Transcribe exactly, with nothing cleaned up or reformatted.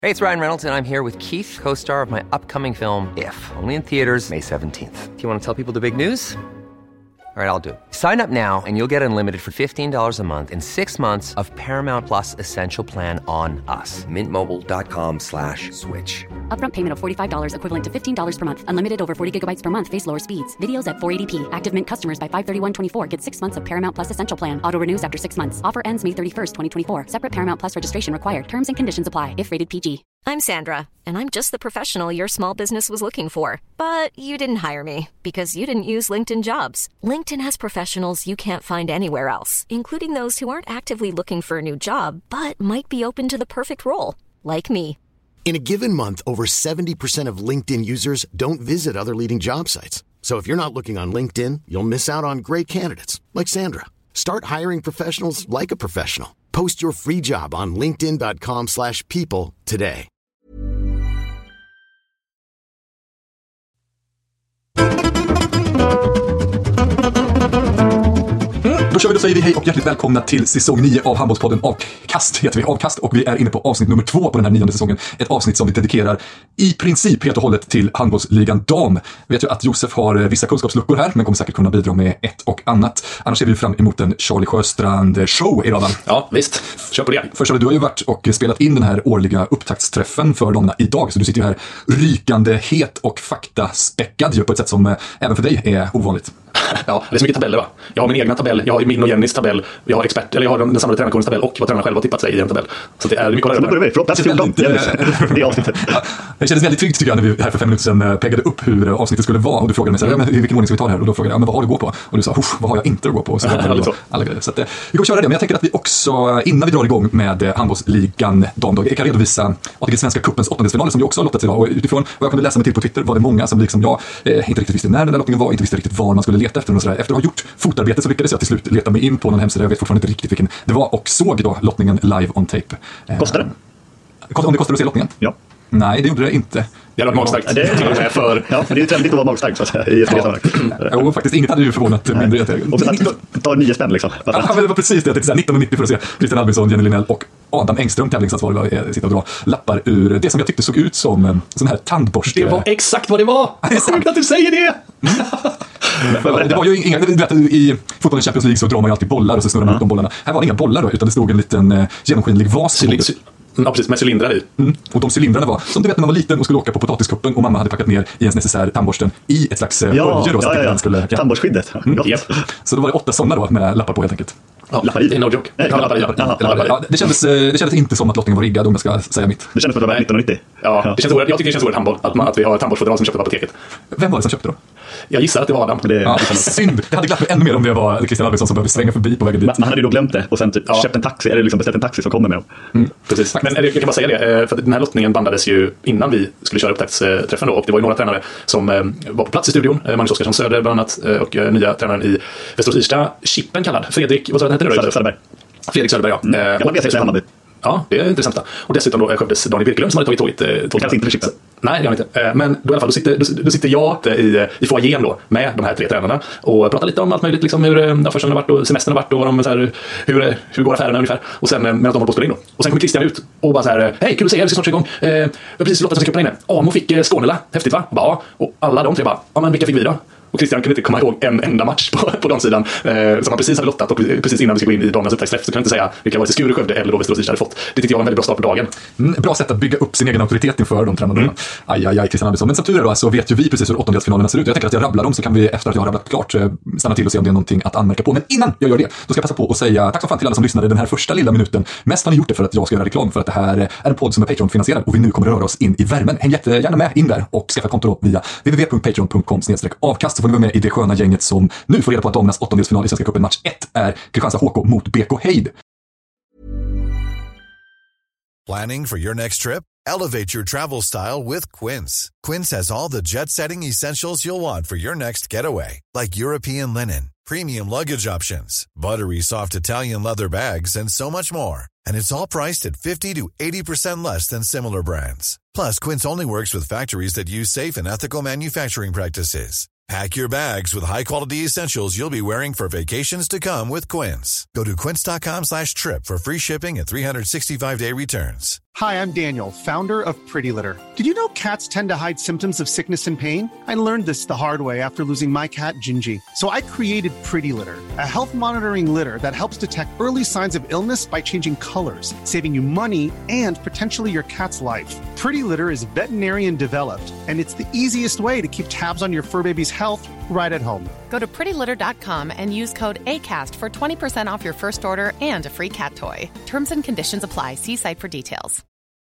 Hey, it's Ryan Reynolds, and I'm here with Keith, co-star of my upcoming film, If, only in theaters May seventeenth. Do you want to tell people the big news? All right, I'll do it. Sign up now and you'll get unlimited for fifteen dollars a month and six months of Paramount Plus Essential Plan on us. Mint Mobile dot com slash switch. Upfront payment of forty-five dollars equivalent to fifteen dollars per month. Unlimited over forty gigabytes per month. Face lower speeds. Videos at four eighty p. Active Mint customers by five thirty-one twenty-four get six months of Paramount Plus Essential Plan. Auto renews after six months. Offer ends May thirty-first, twenty twenty-four. Separate Paramount Plus registration required. Terms and conditions apply if rated P G. I'm Sandra, and I'm just the professional your small business was looking for. But you didn't hire me because you didn't use LinkedIn Jobs. LinkedIn has professionals you can't find anywhere else, including those who aren't actively looking for a new job, but might be open to the perfect role, like me. In a given month, over seventy percent of LinkedIn users don't visit other leading job sites. So if you're not looking on LinkedIn, you'll miss out on great candidates like Sandra. Start hiring professionals like a professional. Post your free job on linkedin dot com slash people today. Då kör vi, då säger vi hej och hjärtligt välkomna till säsong nio av Handbollspodden Avkast, heter vi, Avkast, och vi är inne på avsnitt nummer två på den här nionde säsongen. Ett avsnitt som vi dedikerar i princip helt och hållet till handbollsligan dam. Vet ju att Josef har vissa kunskapsluckor här, men kommer säkert kunna bidra med ett och annat. Annars ser vi fram emot en Charlie Sjöstrand-show idag, va? Ja, visst. Kör på det. Först Charlie, du har ju varit och spelat in den här årliga upptaktsträffen för damerna idag, så du sitter ju här rykande het och faktaspäckad ju på ett sätt som även för dig är ovanligt. Ja, det är så mycket tabeller, va? Jag har min egna tabell, jag har min och Jennys tabell, jag har expert, eller jag har den samlade tränarkårens tabell och vad tränarna själva har tippat sig i en tabell. Så det är mycket att lära. Plats fjorton, det avsnittet. Det kändes väldigt tryggt tycker jag när vi här för fem minuter sedan peggade upp hur avsnittet skulle vara, och du frågade mig så här, ja, men i vilken ordning ska vi ta det här? Och då frågade jag, ja, men vad har du att gå på? Och du sa, vad har jag inte att gå på? Så alla grejer. Så att, vi kommer köra det, men jag tänker att vi också, innan vi drar igång med handbollsligan damdag, jag kan redovisa A T G Svenska cupens åttondelsfinaler som vi också har lottat idag, och utifrån vad jag kunde läsa mig till på Twitter var det många som liksom jag eh, inte riktigt visste när den där lottningen var, inte visste riktigt var man skulle leta efter och sådär. Efter att ha gjort fotarbete så lyckades jag till slut leta mig in på någon hemsida, jag vet fortfarande inte riktigt vilken det var, och såg då lottningen live on tape. Kostar det? Om det kostar att se lottningen? Ja. Nej, det gjorde det inte. Det hade varit magstarkt. Ja, det är till och med för... Ja, men det är ju trendigt att vara magstarkt så att säga, i ett ja. Jo, faktiskt. Inget hade ju förvånat Nej. mindre. Och sen att ta nio spänn liksom. Ja, men det var precis det. Jag tänkte nitton nittio för att se Christian Albinsson, Jenny Linnell och Adam Engström, tävlingsansvarig, sitta och dra lappar ur det som jag tyckte såg ut som en sån här tandborste. Det var exakt vad det var! Det är sjukt att du säger det! Mm. Det var ju inga, du vet, i fotbollen Champions League så drar man ju alltid bollar och så snurrar man mm. ut de bollarna. Här var det inga bollar då, utan det stod en liten eh, genomskinlig vas på bordet. Ja, precis, med cylindrar i. Mm. Och de cylindrarna var, som du vet när man var liten och skulle åka på potatiskuppen och mamma hade packat ner i ens necessär tandborsten i ett slags eh, ja, olje då. Så ja, ja, ja. Skulle, ja. Tandborstskyddet. Mm. Yep. Så då var det åtta sådana då med lappar på helt enkelt. Ja, lappar i, det är no joke. Nej, lappar i, lappar i. Ja, lappar i. Ja, det, kändes, det kändes inte som att lottningen var riggad, om jag ska säga mitt. Det kändes som att det var nittonhundranittio. Ja, ja. Det känns oerhört, jag tycker det känns oerhört handboll att, man, att vi har tandborstfodral som köpte på apoteket. Vem var det som köpte då? Jag gissar att det var Adam. Det, ja, synd. Det hade glatt mig ännu mer om det var Christian Albinsson som behövde svänga förbi på vägen dit. Man, man hade ju då glömt det och sen typ ja. köpt en taxi, eller liksom beställt en taxi som kommer med dem. Mm. Precis. Men jag kan bara säga det, för den här lottningen bandades ju innan vi skulle köra upptaktsträffen då, och det var ju några tränare som var på plats i studion, Magnus Oskarsson Söder bland annat, och nya tränaren i Västerås Irsta, Chippen kallad, Fredrik, vad sa du, heter det? Söderberg. Fredrik Söderberg, ja. Mm. Jag vet inte Hammarby. Ja, det är intressant. Och dessutom då Skövdes Daniel Birkelund som hade tagit tåget. Eh, tåget. Kanske inte för Chippen. Nej, det gör inte. Eh, men då i alla fall, då sitter, då, då sitter jag i, i foajén då med de här tre tränarna och pratar lite om allt möjligt, liksom hur ja, försäsongen har varit och semestern har varit och vad de, så här, hur, hur går affärerna ungefär. Och sen medan de håller på att spela in då. Och sen kommer Christian ut och bara så här, hej, kul att se er, vi ska snart igång. Eh, vi har precis lottat som ska inne. Amo fick eh, Skånela, häftigt va? Ja. Och alla de tre bara, ja men vilka fick vi då? Och Christian kunde inte komma ihåg en enda match på, på de sidan eh, som han precis hade lottat, och precis innan vi ska gå in i damernas upptaktsträff så kunde jag inte säga vilka var det Skure, Skövde eller då Västerås Irsta hade fått. Det tyckte jag var en väldigt bra start på dagen. Mm, bra sätt att bygga upp sin egen auktoritet inför de tränarna. Mm. Aj, aj, aj, Christian Andersson. Men som tur är då så vet ju vi precis hur åttondelsfinalerna ser ut. Jag tänker att jag rabblar dem så kan vi efter att jag har rabblat klart stanna till och se om det är någonting att anmärka på. Men innan jag gör det, då ska jag passa på att säga tack så fan till alla som lyssnade den här första lilla minuten. Mest har ni gjort det för att jag ska göra reklam för att det här är en podd som är Patreon-finansierad och vi nu kommer röra oss in i värmen. Häng jättegärna med in där och skaffa konto då via w w w punkt patreon punkt com slash avkast så får ni vara med i det sköna gänget som nu får reda på att damernas åttondelsfinal i Svenska cupen match ett är Kristianstad H K mot B K Heid. Planning for your next trip? Elevate your travel style with Quince. Quince has all the jet-setting essentials you'll want for your next getaway, like European linen, premium luggage options, buttery soft Italian leather bags, and so much more. And it's all priced at fifty to eighty percent less than similar brands. Plus, Quince only works with factories that use safe and ethical manufacturing practices. Pack your bags with high-quality essentials you'll be wearing for vacations to come with Quince. Go to quince dot com slash trip for free shipping and three sixty-five day returns. Hi, I'm Daniel, founder of Pretty Litter. Did you know cats tend to hide symptoms of sickness and pain? I learned this the hard way after losing my cat, Gingy. So I created Pretty Litter, a health monitoring litter that helps detect early signs of illness by changing colors, saving you money and potentially your cat's life. Pretty Litter is veterinarian developed, and it's the easiest way to keep tabs on your fur baby's health right at home. Go to pretty litter dot com and use code ACAST for twenty percent off your first order and a free cat toy. Terms and conditions apply. See site for details.